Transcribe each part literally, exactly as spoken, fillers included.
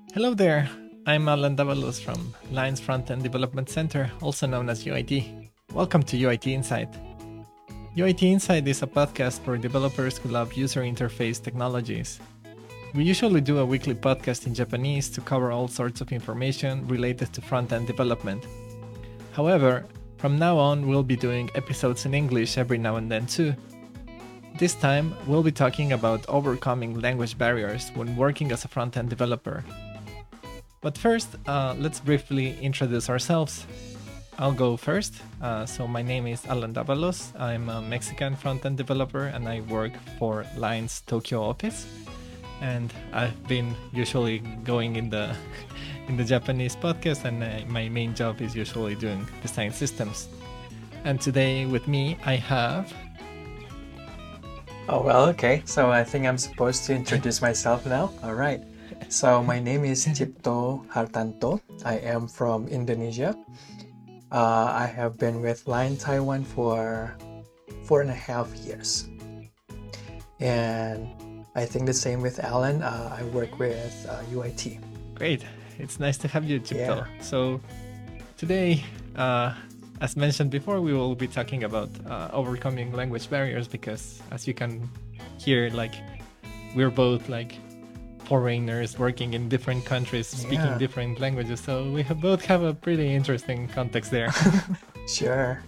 Hello there, I'm Alan Davalos from Lines Front-End Development Center, also known as U I T. Welcome to U I T Insight. U I T Insight is a podcast for developers who love user interface technologies. We usually do a weekly podcast in Japanese to cover all sorts of information related to front-end development. However, from now on, we'll be doing episodes in English every now and then too. This time, we'll be talking about overcoming language barriers when working as a front-end developer. But first, uh, let's briefly introduce ourselves. I'll go first. Uh, so my name is Alan Davalos. I'm a Mexican front-end developer and I work for Line's Tokyo office. And I've been usually going in the in the Japanese podcast, and uh, my main job is usually doing design systems. And today with me, I have... Oh, well, okay. So I think I'm supposed to introduce myself now. All right. So my name is Cipto Hartanto. I am from Indonesia. Uh, I have been with Line Taiwan for four and a half years. And I think the same with Alan. Uh, I work with uh, U I T. Great. It's nice to have you, Cipto. Yeah. So today, uh, as mentioned before, we will be talking about uh, overcoming language barriers because, as you can hear, like we're both like foreigners working in different countries, speaking Yeah. different languages. So we have both have a pretty interesting context there. Sure.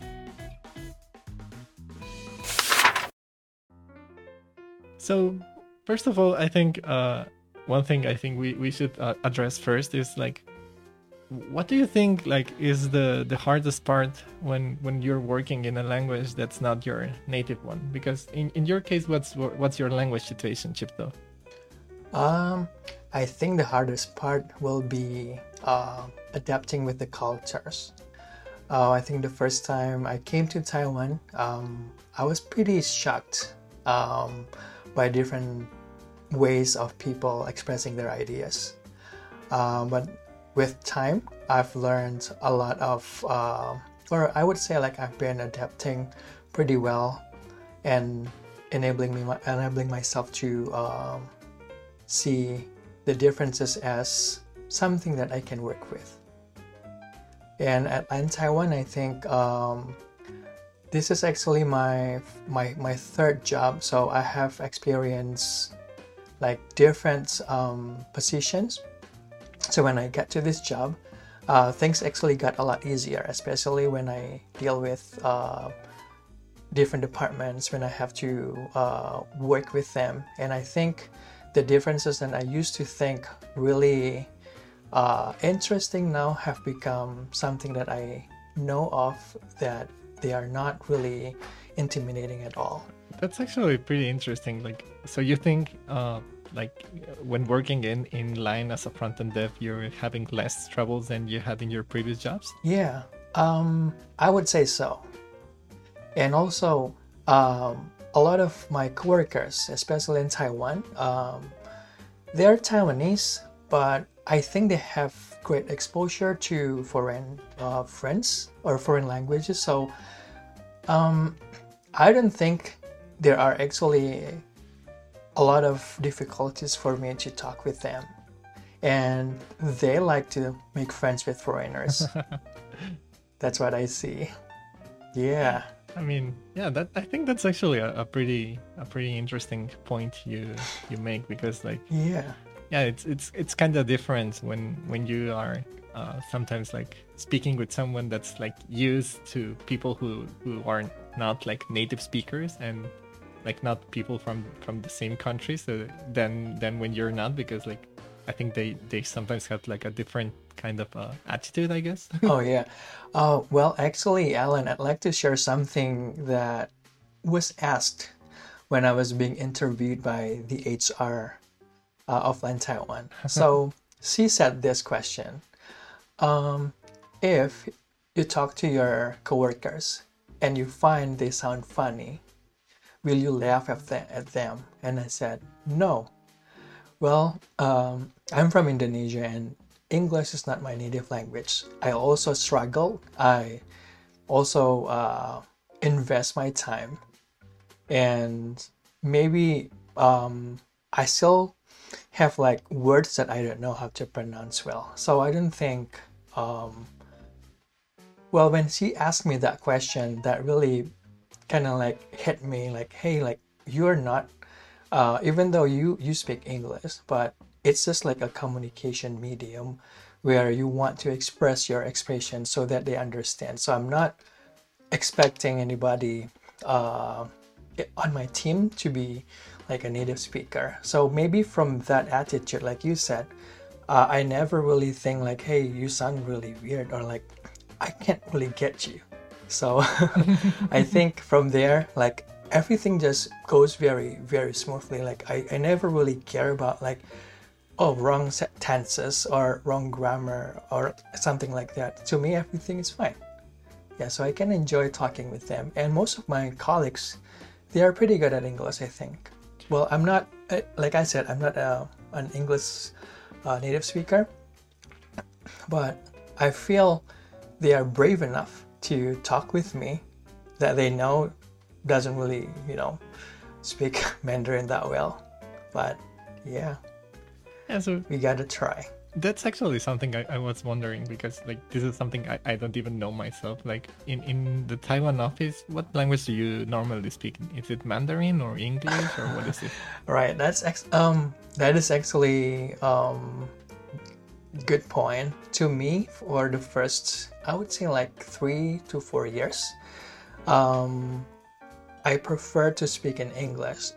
So first of all, I think uh, one thing I think we, we should uh, address first is like, what do you think like is the, the hardest part when, when you're working in a language that's not your native one? Because in, in your case, what's what's your language situation, Cipto? Um, I think the hardest part will be uh, adapting with the cultures. Uh, I think the first time I came to Taiwan, um, I was pretty shocked um, by different ways of people expressing their ideas. Uh, but with time, I've learned a lot of, uh, or I would say like I've been adapting pretty well and enabling me, enabling myself to um, see the differences as something that I can work with. And at in Taiwan, I think um, this is actually my my my third job. So I have experienced like different um, positions. So when I get to this job, uh, things actually got a lot easier, especially when I deal with uh, different departments, when I have to uh, work with them. And I think the differences that I used to think really uh, interesting now have become something that I know of, that they are not really intimidating at all. That's actually pretty interesting. Like, so you think uh, like when working in, in line as a front-end dev, you're having less troubles than you had in your previous jobs? Yeah, um, I would say so. And also, um, a lot of my coworkers, especially in Taiwan, um, they're Taiwanese, but I think they have great exposure to foreign uh, friends or foreign languages. So um, I don't think there are actually a lot of difficulties for me to talk with them. And they like to make friends with foreigners. That's what I see. Yeah. I mean, yeah, that I think that's actually a, a pretty a pretty interesting point you you make because like Yeah. yeah, it's it's it's kind of different when when you are uh, sometimes like speaking with someone that's like used to people who who are not like native speakers and like not people from from the same country. So then then when you're not, because like I think they they sometimes have like a different kind of uh, attitude, I guess. Oh, yeah. Uh, well, actually, Alan, I'd like to share something that was asked when I was being interviewed by the H R uh, of Line Taiwan. So she said this question. Um, if you talk to your coworkers and you find they sound funny, will you laugh at, the- at them? And I said, no. Well, um, I'm from Indonesia and English is not my native language. I also struggle. I also uh, invest my time, and maybe um, I still have like words that I don't know how to pronounce well. So I don't think, um, well, when she asked me that question, that really kind of like hit me like, hey, like you're not, uh, even though you, you speak English, but it's just like a communication medium where you want to express your expression so that they understand. So I'm not expecting anybody uh, on my team to be like a native speaker. So maybe from that attitude, like you said, uh, I never really think like, hey, you sound really weird, or like, I can't really get you. So I think from there, like everything just goes very, very smoothly. Like I, I never really care about like, oh, wrong tenses or wrong grammar or something like that. To me, everything is fine. Yeah, so I can enjoy talking with them. And most of my colleagues, they are pretty good at English, I think. Well, I'm not, uh, like I said, I'm not uh, an English uh, native speaker, but I feel they are brave enough to talk with me that they know doesn't really, you know, speak Mandarin that well. But yeah, Yeah, so we gotta try. that's actually something I, I was wondering, because like this is something I, I don't even know myself. Like in, in the Taiwan office, what language do you normally speak? Is it Mandarin or English, or what is it? Right, that's ex- um that is actually um good point. To me, for the first, I would say like three to four years, um I prefer to speak in English.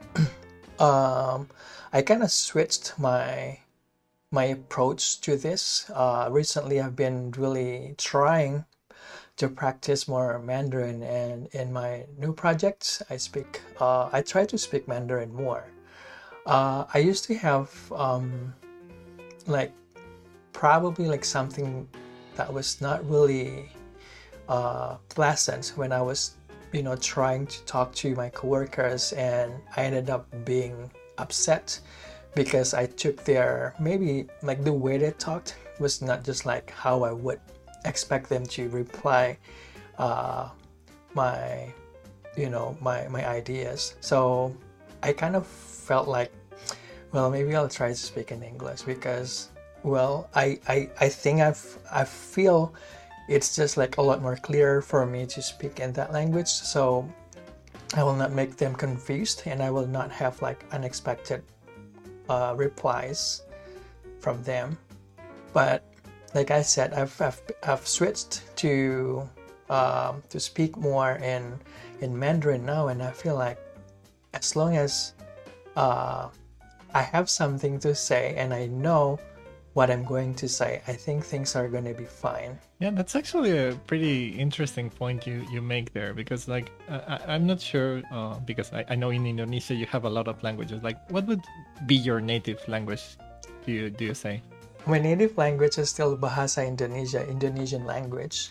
um I kind of switched my my approach to this. Uh, recently, I've been really trying to practice more Mandarin, and in my new projects, I speak. Uh, I try to speak Mandarin more. Uh, I used to have um, like probably like something that was not really uh, pleasant when I was, you know, trying to talk to my coworkers, and I ended up being upset because I took their, maybe like the way they talked was not just like how I would expect them to reply uh, my, you know, my, my ideas. So I kind of felt like, well, maybe I'll try to speak in English because, well, I, I, I think I've, I feel it's just like a lot more clear for me to speak in that language. So I will not make them confused, and I will not have like unexpected Uh, replies from them. But like I said, I've I've, I've switched to um, to speak more in in Mandarin now, and I feel like as long as uh, I have something to say and I know what I'm going to say, I think things are going to be fine. Yeah, that's actually a pretty interesting point you, you make there, because like uh, I, I'm not sure uh, because I, I know in Indonesia you have a lot of languages. Like, what would be your native language? Do you do you say? My native language is still Bahasa Indonesia, Indonesian language.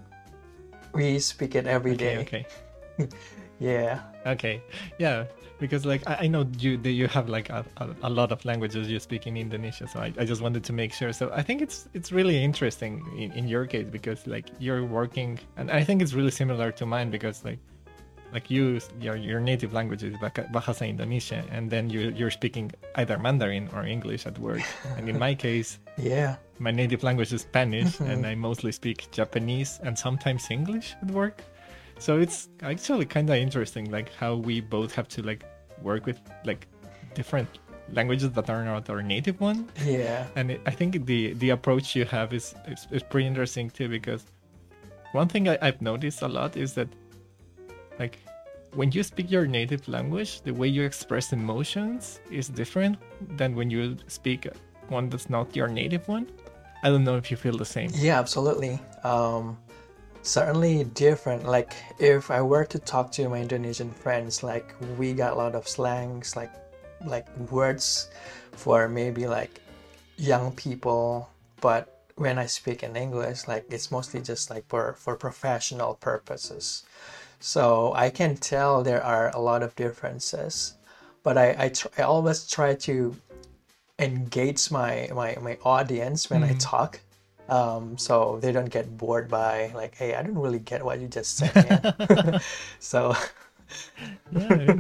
We speak it every Okay, day. okay. Yeah. Okay, yeah, because like I, I know you do you have like a, a, a lot of languages you speak in Indonesia, so I, I just wanted to make sure. So I think it's it's really interesting in, in your case, because like you're working, and I think it's really similar to mine, because like like you your your native language is Baka- Bahasa Indonesia, and then you you're speaking either Mandarin or English at work. And in my case, Yeah. my native language is Spanish, and I mostly speak Japanese and sometimes English at work. So it's actually kind of interesting, like how we both have to like work with like different languages that are not our native one. Yeah. And it, I think the the approach you have is, is is pretty interesting too, because one thing I, I've noticed a lot is that like when you speak your native language, the way you express emotions is different than when you speak one that's not your native one. I don't know if you feel the same. Yeah, absolutely. Um, certainly different. Like if I were to talk to my Indonesian friends, like we got a lot of slangs, like like words for maybe like young people, but when I speak in English, like it's mostly just like for for professional purposes. So I can tell there are a lot of differences, but I I, tr- I always try to engage my my, my audience when I Mhm. talk, um, so they don't get bored by like, hey, I don't really get what you just said, man. So Yeah, I mean, I,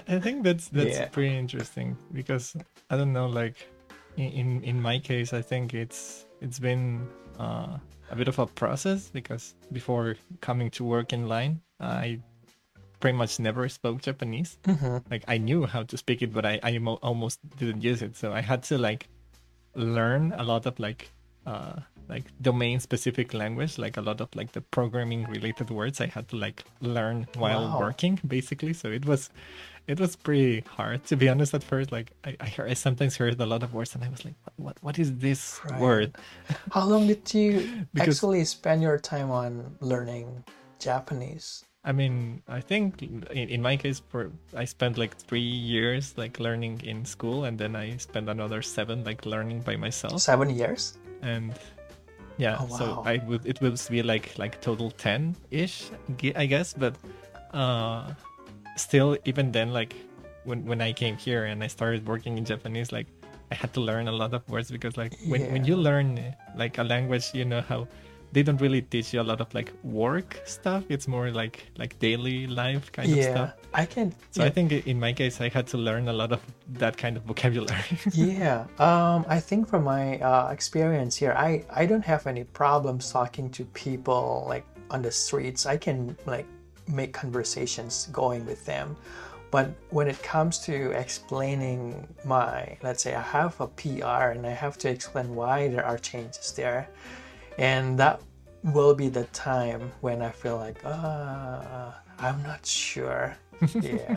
I think that's that's Yeah. pretty interesting because I don't know, like in in, in my case, I think it's it's been uh, a bit of a process because before coming to work in line, I pretty much never spoke Japanese. Mm-hmm. Like I knew how to speak it, but I I mo- almost didn't use it. So I had to like learn a lot of like uh like domain specific language, like a lot of like the programming related words I had to like learn while Wow. working basically. So it was it was pretty hard to be honest at first. Like I I, heard, I sometimes heard a lot of words and I was like, what what, what is this Right. word? How long did you Because actually spend your time on learning Japanese? I mean, I think in, in my case, for I spent like three years like learning in school, and then I spent another seven like learning by myself. Seven years? And yeah, Oh, so wow. I would it would be like like total ten ish, I guess. But uh, still, even then, like when when I came here and I started working in Japanese, like I had to learn a lot of words because like when when you Yeah. learn like a language, you know how they don't really teach you a lot of like work stuff. It's more like like daily life kind of Yeah. stuff. I can. So I Yeah. think in my case, I had to learn a lot of that kind of vocabulary. Yeah. Um, I think from my uh, experience here, I, I don't have any problems talking to people like on the streets. I can like make conversations going with them. But when it comes to explaining my, let's say I have a P R and I have to explain why there are changes there, and that will be the time when I feel like, uh, I'm not sure. Yeah.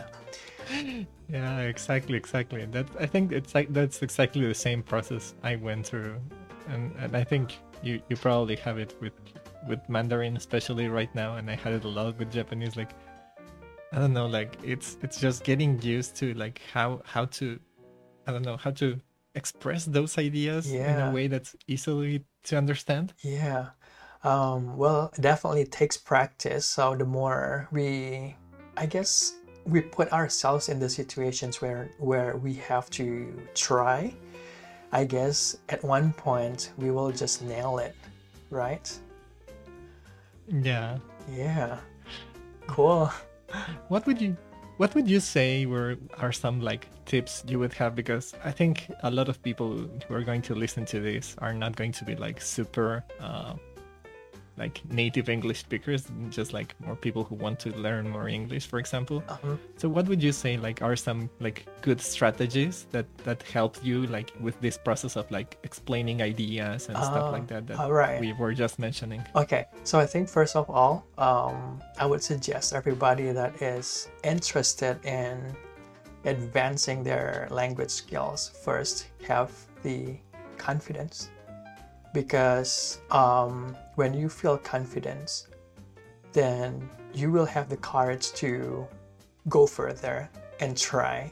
Yeah, exactly, exactly. That I think it's like that's exactly the same process I went through, and and I think you you probably have it with with Mandarin, especially right now, and I had it a lot with Japanese. Like I don't know, like it's it's just getting used to like how how to I don't know how to express those ideas in a Yeah. way that's easily to understand. Yeah. Um, well, it definitely takes practice. So the more we, I guess, we put ourselves in the situations where where we have to try, I guess at one point we will just nail it, right? Yeah. Yeah. Cool. What would you what would you say were are some like tips you would have, because I think a lot of people who are going to listen to this are not going to be like super uh, like native English speakers, just like more people who want to learn more English, for example. Um, So what would you say like are some like good strategies that that help you like with this process of like explaining ideas and stuff uh, like that that all right. we were just mentioning? Okay, so I think first of all, um, I would suggest everybody that is interested in advancing their language skills first have the confidence, because um, when you feel confidence, then you will have the courage to go further and try.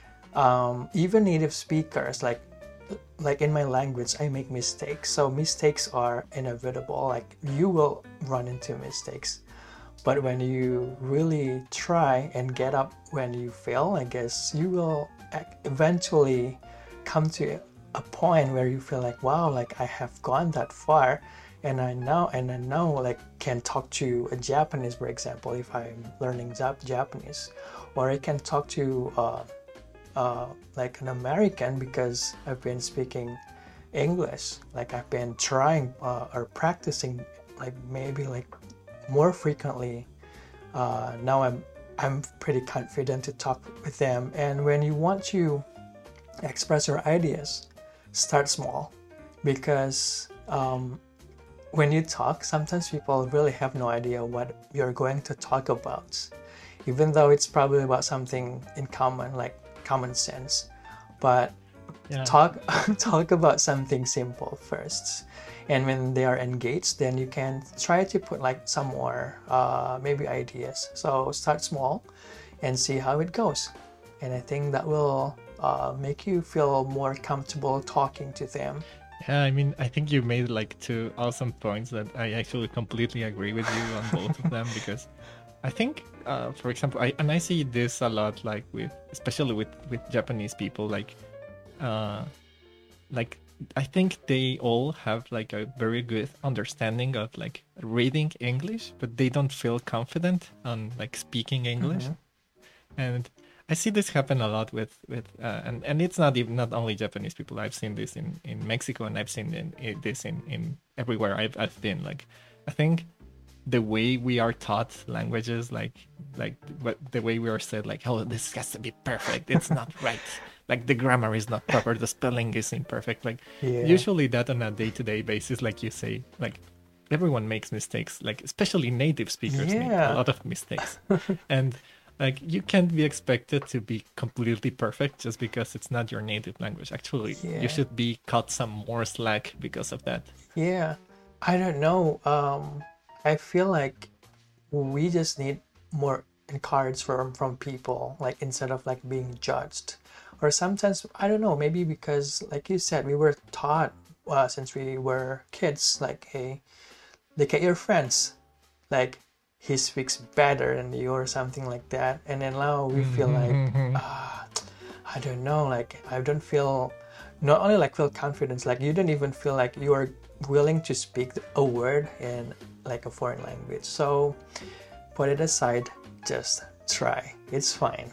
Um, even native speakers, like like in my language, I make mistakes. So mistakes are inevitable. Like you will run into mistakes. But when you really try and get up when you fail, I guess you will eventually come to a point where you feel like, wow, like I have gone that far, and I now and I now like can talk to a Japanese, for example, if I'm learning Jap- Japanese, or I can talk to uh, uh, like an American because I've been speaking English. Like I've been trying uh, or practicing like maybe like more frequently. Uh, now I'm I'm pretty confident to talk with them. And when you want to express your ideas, start small, because um, when you talk, sometimes people really have no idea what you're going to talk about, even though it's probably about something in common, like common sense. But Yeah. talk talk about something simple first, and when they are engaged, then you can try to put like some more uh, maybe ideas. So start small and see how it goes, and I think that will uh, make you feel more comfortable talking to them. Yeah, I mean, I think you made like two awesome points that I actually completely agree with you on both of them, because I think, uh, for example, I and I see this a lot, like with especially with with Japanese people, like, uh, like I think they all have like a very good understanding of like reading English, but they don't feel confident on like speaking English. Mhm. And I see this happen a lot with with uh, and and it's not even not only Japanese people. I've seen this in, in Mexico, and I've seen in, in this in, in everywhere I've I've been. Like, I think the way we are taught languages, like like what the way we are said, like, oh, this has to be perfect. It's not right. Like the grammar is not proper. The spelling is imperfect. Like Yeah. usually that on a day to day basis, like you say, like everyone makes mistakes. Like especially native speakers make Yeah. a lot of mistakes, and like you can't be expected to be completely perfect just because it's not your native language. Actually, Yeah. you should be cut some more slack because of that. Yeah, I don't know. Um, I feel like we just need more encouragement from from people, like instead of like being judged. Or sometimes I don't know, maybe because like you said, we were taught uh, since we were kids, like, hey, look at your friends, like he speaks better than you or something like that, and then now we feel like ah, I don't know, like I don't feel not only like feel confidence, like you don't even feel like you are willing to speak a word in like a foreign language. So put it aside, just try. It's fine.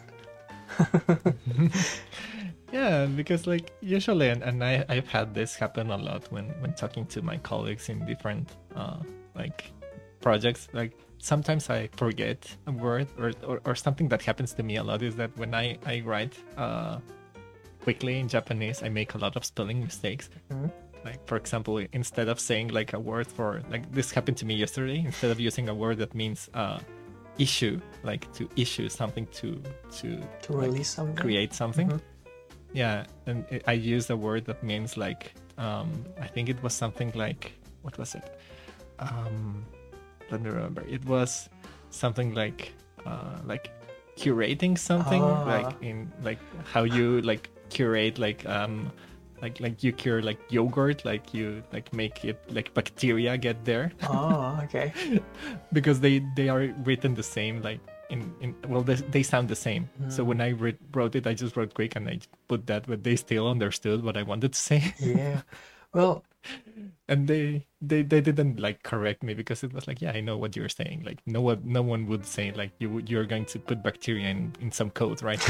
Yeah, because like usually, and, and I I've had this happen a lot when when talking to my colleagues in different uh like projects. Like sometimes I forget a word, or or, or something that happens to me a lot is that when I I write uh quickly in Japanese, I make a lot of spelling mistakes. Mhm. Like for example, instead of saying like a word for like this happened to me yesterday, instead of using a word that means uh issue, like to issue something to to To like, release something. create something. Mhm. Yeah, and it, I used a word that means like um I think it was something like, what was it? Um let me remember. It was something like uh like curating something, Ah. like in like how you like curate like um like like you cure like yogurt, like you like make it like bacteria get there. Oh, okay. Because they they are written the same, like in, in well they, they sound the same. So when I re- wrote it, I just wrote quick and I put that, but they still understood what I wanted to say. Yeah. Well, And they, they they didn't like correct me because it was like, yeah, I know what you're saying. Like no one no one would say like you would- you're going to put bacteria in, in some code, right?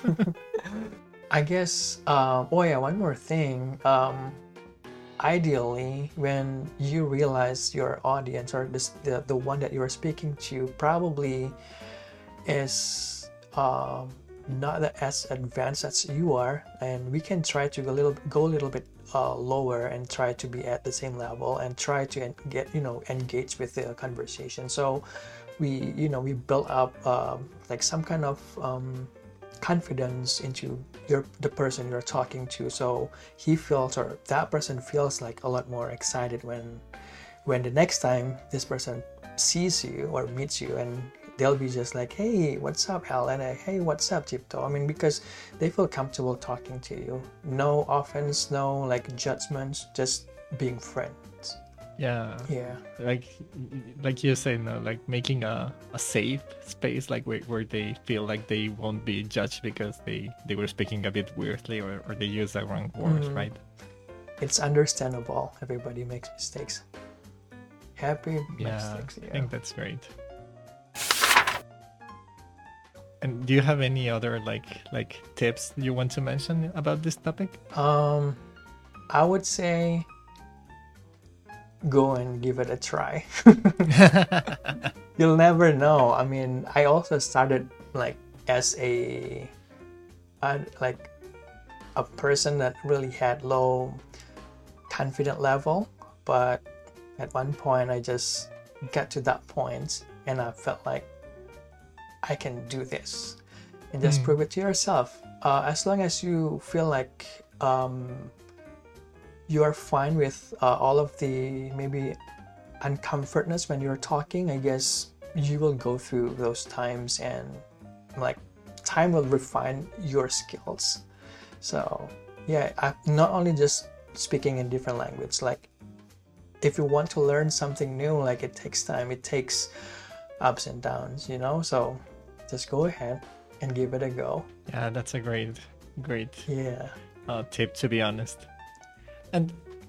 I guess, um, oh yeah, one more thing. Um, ideally, when you realize your audience or this, the, the one that you are speaking to probably is um, not that as advanced as you are, and we can try to go a little, go a little bit uh, lower and try to be at the same level and try to en- get, you know, engage with the conversation. So we, you know, we build up um, like some kind of um, confidence into your the person you're talking to, so he feels or that person feels like a lot more excited when when the next time this person sees you or meets you, and they'll be just like, hey, what's up, Hal? And uh, hey, what's up, Tipto? I mean, because they feel comfortable talking to you. No offense, no like judgments, just being friends. Yeah. Yeah. Like like you say, no, like making a, a safe space, like where, where they feel like they won't be judged because they, they were speaking a bit weirdly, or, or they use the wrong words, Mm. right? It's understandable. Everybody makes mistakes. Happy Yeah, mistakes. I Yeah. think that's great. And do you have any other like like tips you want to mention about this topic? Um, I would say go and give it a try. You'll never know. I mean, I also started like as a, uh, like a person that really had low confident level, but at one point I just got to that point and I felt like I can do this, and just Mm. prove it to yourself. Uh, as long as you feel like um, you are fine with uh, all of the maybe uncomfortness when you're talking, I guess you will go through those times, and like time will refine your skills. So yeah, I, not only just speaking in different language, like if you want to learn something new, like it takes time, it takes ups and downs, you know. So just go ahead and give it a go. Yeah, that's a great great Yeah. uh, tip, to be honest. And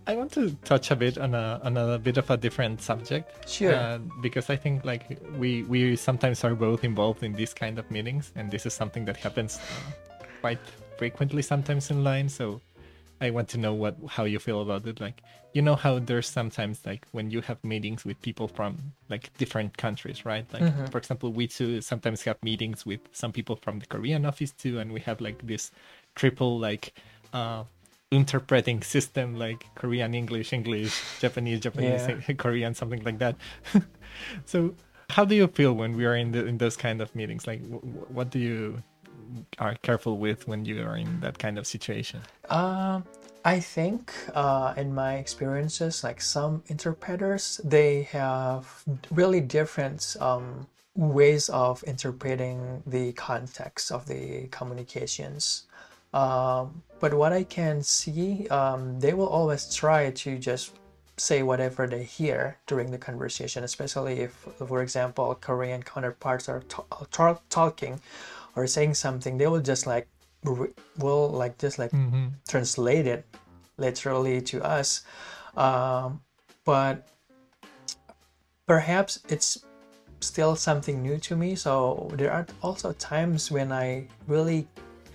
I want to touch a bit on a on a bit of a different subject. Sure. Uh, because I think like we we sometimes are both involved in these kind of meetings, and this is something that happens uh, quite frequently sometimes in line. So I want to know what how you feel about it. Like, you know how there's sometimes like when you have meetings with people from like different countries, right? Like Mhm. for example, we too sometimes have meetings with some people from the Korean office too, and we have like this triple like uh interpreting system, like Korean, English, English, Japanese, Japanese, Yeah. Korean, something like that. So how do you feel when we are in the in those kind of meetings? Like w- w- what do you are careful with when you are in that kind of situation? Um, I think uh, in my experiences, like some interpreters, they have really different um, ways of interpreting the context of the communications. Um, but what I can see, um, they will always try to just say whatever they hear during the conversation, especially if, for example, Korean counterparts are ta- ta- talking or saying something. They will just like re- will like just like Mm-hmm. translate it literally to us. Um, but perhaps it's still something new to me. So there are also times when I really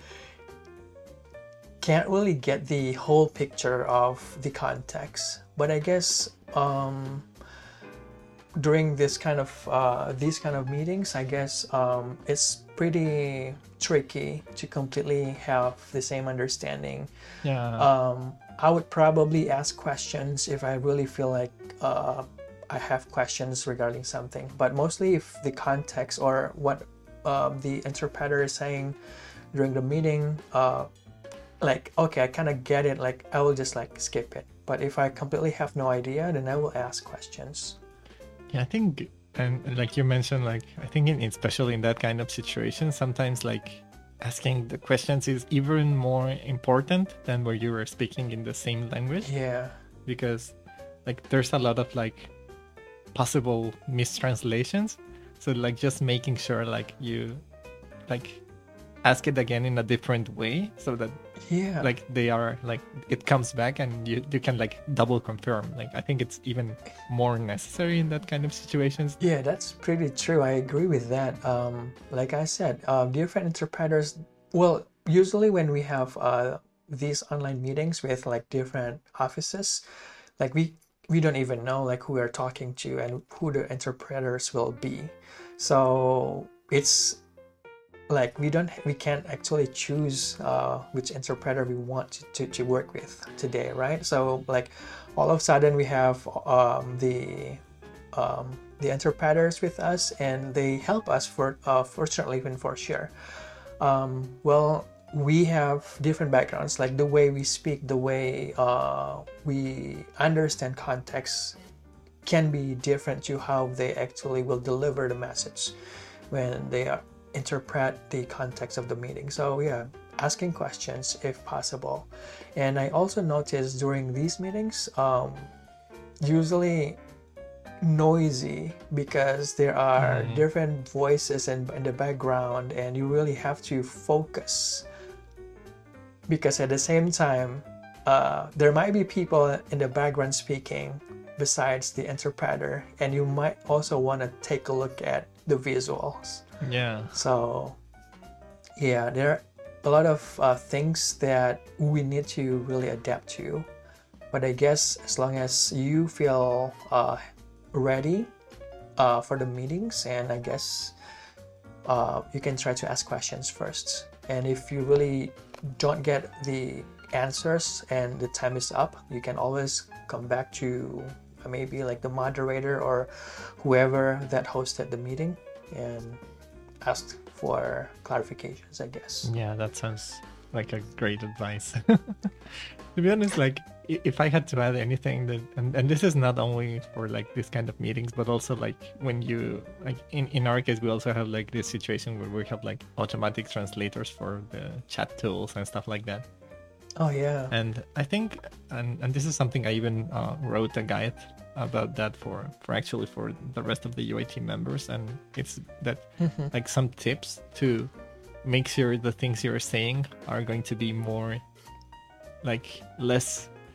can't really get the whole picture of the context. But I guess um, during this kind of uh, these kind of meetings, I guess um, it's pretty tricky to completely have the same understanding. Yeah. Um, I would probably ask questions if I really feel like uh, I have questions regarding something. But mostly, if the context or what uh, the interpreter is saying during the meeting, uh, like okay, I kind of get it. Like I will just like skip it. But if I completely have no idea, then I will ask questions. Yeah, I think, and and like you mentioned, like I think in, especially in that kind of situation, sometimes like asking the questions is even more important than where you were speaking in the same language, Yeah, because like there's a lot of like possible mistranslations. So like just making sure like you like ask it again in a different way so that yeah. like they are like it comes back and you you can like double confirm. Like I think it's even more necessary in that kind of situations. Yeah, that's pretty true. I agree with that. Um, like I said, uh, different interpreters. Well, usually when we have uh, these online meetings with like different offices, like we we don't even know like who we're talking to and who the interpreters will be. So it's like we don't we can't actually choose uh, which interpreter we want to, to, to work with today, right? So like all of a sudden we have um, the um, the interpreters with us and they help us for uh, fortunately even for sure. Um, well, we have different backgrounds, like the way we speak, the way uh, we understand context can be different to how they actually will deliver the message when they are, interpret the context of the meeting. So yeah, asking questions if possible. And I also noticed during these meetings, um, usually noisy because there are Mhm. different voices in, in the background and you really have to focus because at the same time uh, there might be people in the background speaking besides the interpreter and you might also want to take a look at the visuals. Yeah. So yeah, there are a lot of uh, things that we need to really adapt to, but I guess as long as you feel uh, ready uh, for the meetings, and I guess uh, you can try to ask questions first. And if you really don't get the answers and the time is up, you can always come back to uh, maybe like the moderator or whoever that hosted the meeting and ask for clarifications, I guess. Yeah, that sounds like a great advice. To be honest, like i- if I had to add anything that, and, and this is not only for like this kind of meetings, but also like when you like in, in our case, we also have like this situation where we have like automatic translators for the chat tools and stuff like that. Oh yeah. And I think, and, and this is something I even uh, wrote a guide about that for, for actually for the rest of the U I T members. And it's that Mhm. like some tips to make sure the things you're saying are going to be more like less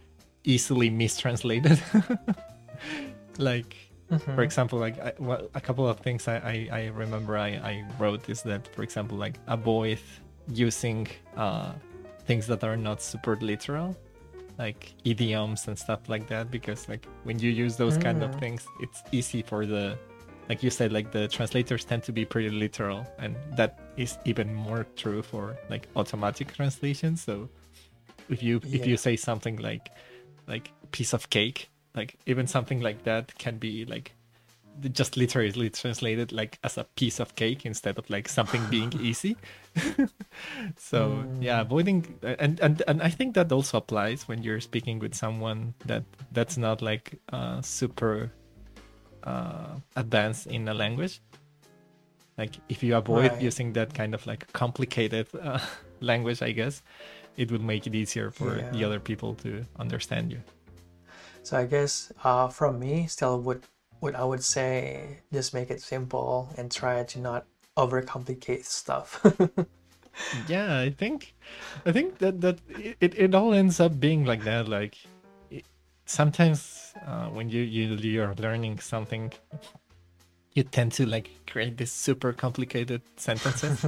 easily mistranslated. Like, Mm-hmm. for example, like I, well, a couple of things I, I, I remember I, I wrote is that, for example, like avoid using uh, things that are not super literal, like idioms and stuff like that, because like when you use those kind of Mm. things, it's easy for the, like you said, like the translators tend to be pretty literal, and that is even more true for like automatic translation. So if you if Yeah. you say something like like piece of cake, like even something like that can be like just literally translated like as a piece of cake instead of like something being easy. So yeah, Mm. avoiding, and, and and I think that also applies when you're speaking with someone that that's not like uh super uh advanced in a language. Like if you avoid Right. using that kind of like complicated uh, language, I guess it would make it easier for the Yeah. other people to understand you. So I guess uh, from me, still would what I would say, just make it simple and try to not overcomplicate stuff. Yeah, I think, I think that that it, it all ends up being like that. Like it, sometimes uh, when you you you're learning something, you tend to like create these super complicated sentences.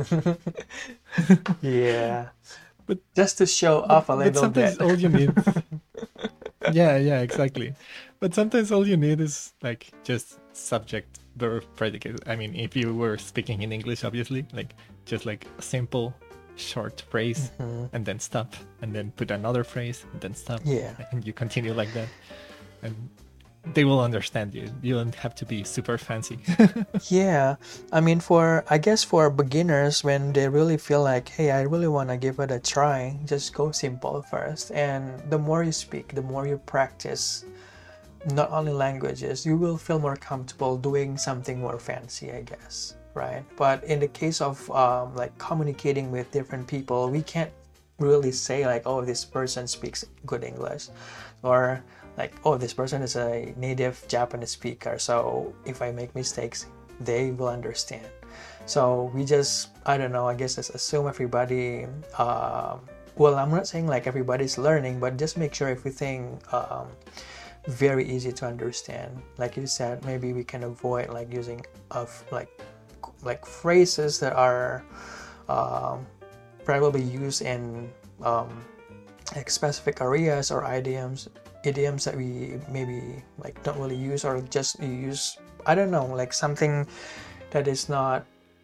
Yeah, But just to show but off a but little sometimes bit. all you need, yeah, yeah, exactly. But sometimes all you need is like just subject, verb, predicate. I mean, if you were speaking in English, obviously, like just like a simple, short phrase, Mhm. and then stop, and then put another phrase, and then stop, Yeah. and you continue like that, and they will understand you. You don't have to be super fancy. Yeah, I mean, for I guess for beginners, when they really feel like, hey, I really want to give it a try, just go simple first. And the more you speak, the more you practice, not only languages, you will feel more comfortable doing something more fancy, I guess, right? But in the case of um, like communicating with different people, we can't really say like, oh, this person speaks good English, or like, oh, this person is a native Japanese speaker, so if I make mistakes, they will understand. So we just, I don't know, I guess just assume everybody, um, well, I'm not saying like everybody's learning, but just make sure everything um, very easy to understand. Like you said, maybe we can avoid like using of like like phrases that are um, probably used in um, like specific areas, or idioms idioms that we maybe like don't really use, or just use, I don't know, like something that is not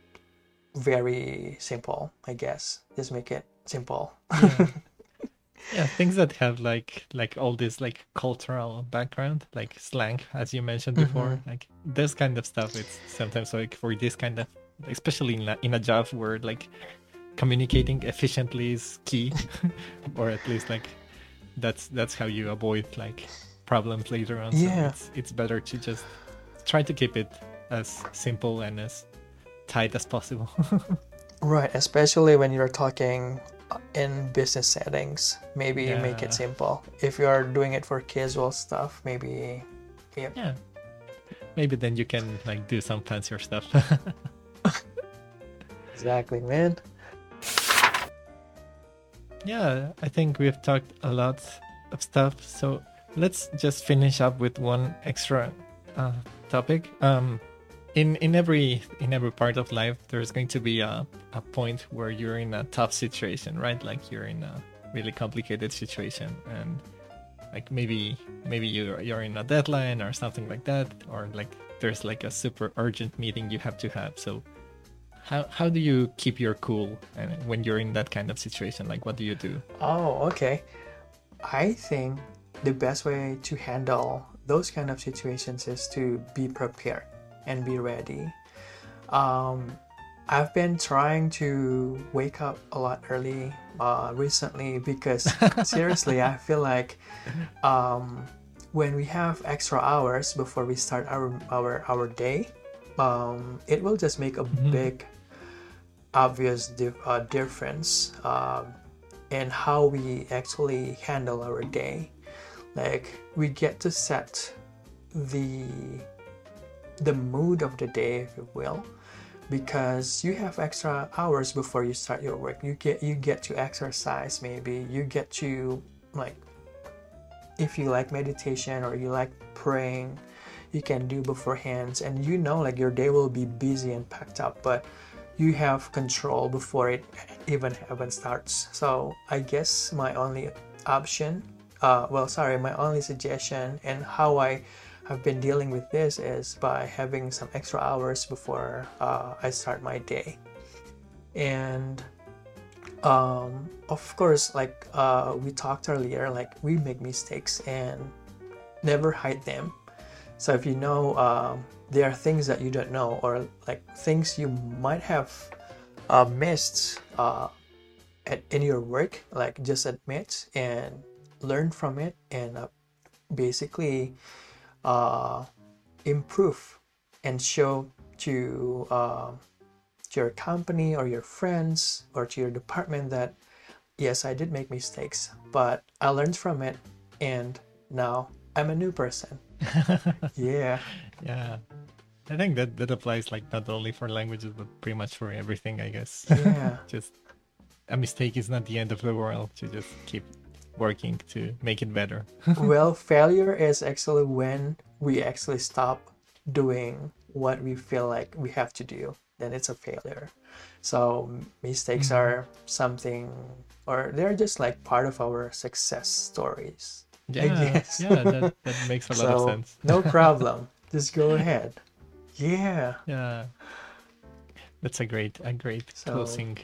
very simple, I guess. Just make it simple. Yeah. Yeah, things that have like like all this like cultural background, like slang, as you mentioned Mm-hmm. before, like this kind of stuff. It's sometimes like for this kind of, especially in a, in a job where like communicating efficiently is key, or at least like that's that's how you avoid like problems later on. So Yeah, it's it's better to just try to keep it as simple and as tight as possible. right. Especially when you're talking in business settings, maybe make it Yeah, simple. If you're doing it for casual stuff, maybe, yeah. yeah. Maybe then you can like do some fancier stuff. Exactly, man. Yeah, I think we've talked a lot of stuff. So let's just finish up with one extra uh, topic. Um, in in every in every part of life, there's going to be a, a point where you're in a tough situation, right? Like you're in a really complicated situation, and like maybe maybe you're you're in a deadline or something like that, or like there's like a super urgent meeting you have to have. So how how do you keep your cool and when you're in that kind of situation? Like what do you do? Oh, okay. I think the best way to handle those kind of situations is to be prepared and be ready. Um, I've been trying to wake up a lot early uh, recently, because seriously, I feel like um, when we have extra hours before we start our our, our day, um, it will just make a Mhm. big obvious dif- uh, difference um, in how we actually handle our day. Like we get to set the the mood of the day, if you will, because you have extra hours before you start your work. You get you get to exercise, maybe you get to like if you like meditation or you like praying, you can do beforehand, and you know like your day will be busy and packed up, but you have control before it even even starts. So I guess my only option, uh, well, sorry, my only suggestion and how I have been dealing with this is by having some extra hours before uh, I start my day. And um, of course, like uh, we talked earlier, like we make mistakes and never hide them. So if you know um, there are things that you don't know, or like things you might have uh, missed uh, at, in your work, like just admit and learn from it, and uh, basically uh, improve and show to, uh, to your company or your friends or to your department that yes, I did make mistakes, but I learned from it, and now I'm a new person. Yeah. Yeah. I think that that applies like not only for languages, but pretty much for everything, I guess. Yeah. Just a mistake is not the end of the world. You just keep working to make it better. Well, failure is actually when we actually stop doing what we feel like we have to do. Then it's a failure. So mistakes Mhm. are something, or they're just like part of our success stories. I Yeah, guess. yeah, that, that makes a lot of So sense. no problem. Just go ahead. Yeah. Yeah, that's a great, a great So- closing.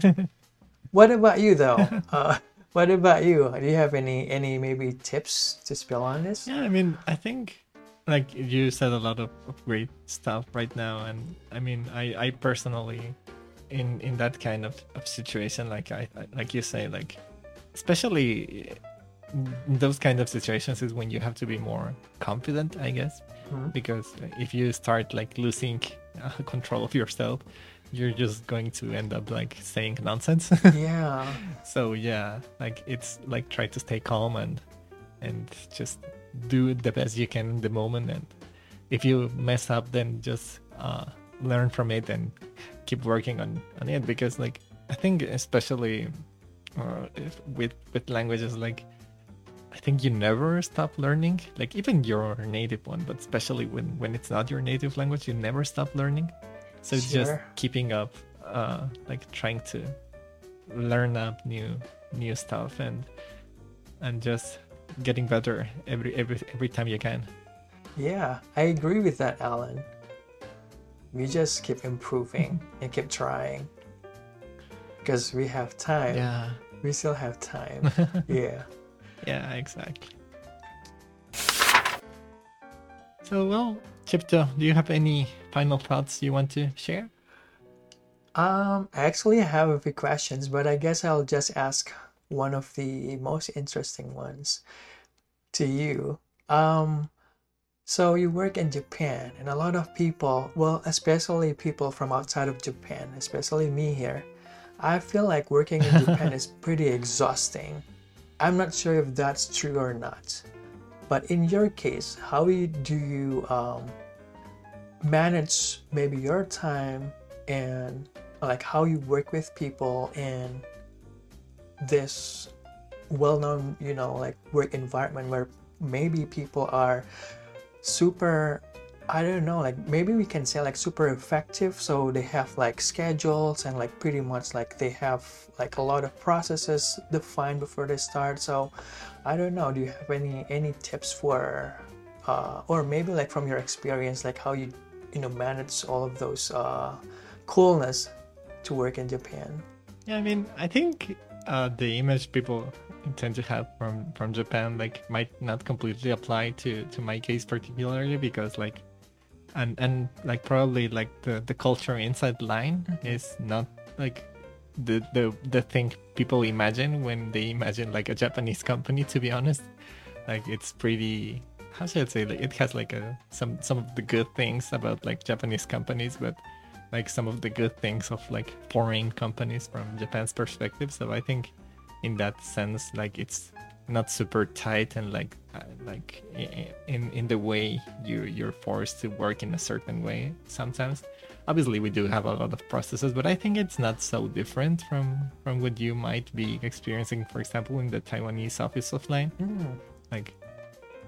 What about you though? Uh, what about you? Do you have any any maybe tips to spill on this? Yeah, I mean, I think like you said a lot of, of great stuff right now, and I mean, I, I personally, in in that kind of, of situation, like I I- like you say, like especially in those kind of situations is when you have to be more confident, I guess, Mhm. because if you start like losing uh, control of yourself, you're just going to end up like saying nonsense. Yeah. So yeah, like it's like try to stay calm and and just do the best you can in the moment, and if you mess up, then just uh, learn from it and keep working on on it, because like I think especially uh, if with with languages, like I think you never stop learning, like even your native one, but especially when when it's not your native language, you never stop learning. So it's just Sure. keeping up, uh, like trying to learn up new new stuff and and just getting better every every every time you can. Yeah, I agree with that, Alan. We just keep improving and keep trying because we have time. Yeah, We still have time. Yeah. yeah, exactly. So well, Chipto, do you have any final thoughts you want to share? Um, I actually have a few questions, but I guess I'll just ask one of the most interesting ones to you. Um, so you work in Japan, and a lot of people, well, especially people from outside of Japan, especially me here, I feel like working in Japan is pretty exhausting. I'm not sure if that's true or not. But in your case, how you- do you um, manage maybe your time and like how you work with people in this well-known, you know, like work environment where maybe people are super, I don't know, like maybe we can say like super effective, so they have like schedules and like pretty much like they have like a lot of processes defined before they start. So I don't know, do you have any any tips for uh or maybe like from your experience, like how you you know manage all of those uh coolness to work in Japan? Yeah, I mean, I think uh, the image people tend to have from from Japan like might not completely apply to to my case particularly, because like and and like probably like the the culture inside line is not like the the the thing people imagine when they imagine like a Japanese company, to be honest. Like it's pretty, how should I say, like it has like a some some of the good things about like Japanese companies, but like some of the good things of like foreign companies from Japan's perspective. So I think in that sense, like it's not super tight and like uh, like i- in in the way you you're forced to work in a certain way sometimes. Obviously we do have a lot of processes, but I think it's not so different from from what you might be experiencing, for example, in the Taiwanese office of line. Mm, Like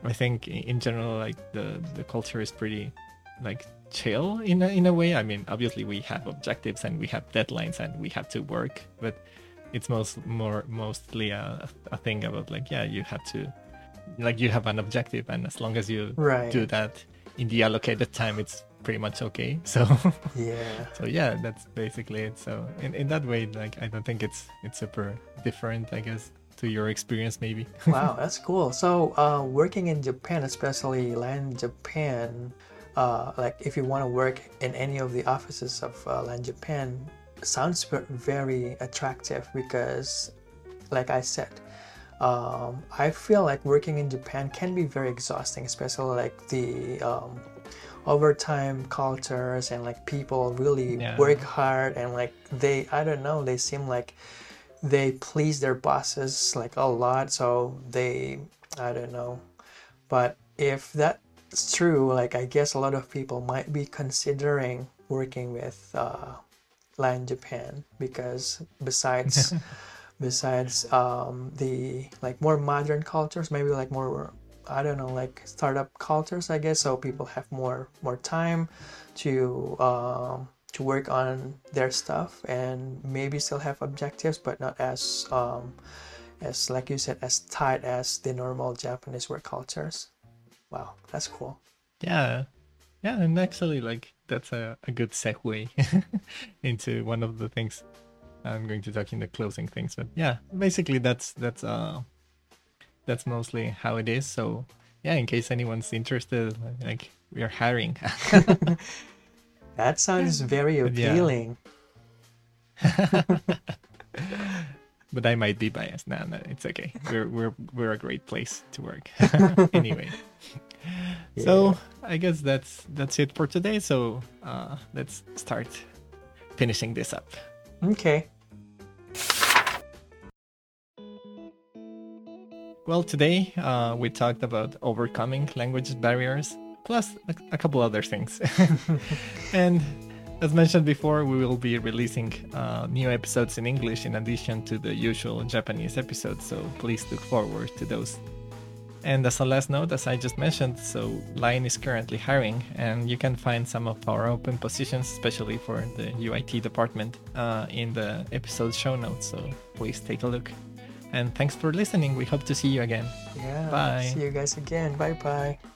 I think i- in general, like the the culture is pretty like chill in a, in a way. I mean, obviously we have objectives and we have deadlines and we have to work, but it's most more mostly a, a thing about like, yeah, you have to, like, you have an objective, and as long as you Right. do that in the allocated time, it's pretty much okay. So Yeah. so yeah, that's basically it. So in, in that way, like, I don't think it's it's super different, I guess, to your experience maybe. Wow, that's cool. So, uh, working in Japan, especially LAN Japan, uh, like if you want to work in any of the offices of uh, LAN Japan, sounds ve- very attractive because, like I said, um, I feel like working in Japan can be very exhausting, especially like the um, overtime cultures and like people really Yeah. work hard and like they, I don't know, they seem like they please their bosses like a lot, so they, I don't know. But if that's true, like I guess a lot of people might be considering working with uh, LAN Japan because besides besides um, the like more modern cultures, maybe like more, I don't know, like startup cultures, I guess. So people have more more time to um, to work on their stuff and maybe still have objectives, but not as um, as like you said, as tight as the normal Japanese work cultures. Wow, that's cool. Yeah. Yeah, and actually, like, that's a, a good segue into one of the things I'm going to talk in the closing things. But yeah, basically that's that's uh that's mostly how it is. So yeah, in case anyone's interested, like, we are hiring. That sounds very But yeah. appealing. But I might be biased. No, no, it's okay. We're we're we're a great place to work. Anyway. So I guess that's that's it for today. So uh, let's start finishing this up. Okay. Well, today uh, we talked about overcoming language barriers, plus a, a couple other things. And as mentioned before, we will be releasing uh, new episodes in English in addition to the usual Japanese episodes, so please look forward to those. And as a last note, as I just mentioned, so Line is currently hiring, and you can find some of our open positions, especially for the U I T department, uh, in the episode show notes, so please take a look. And thanks for listening. We hope to see you again. Yeah. Bye. See you guys again. Bye bye.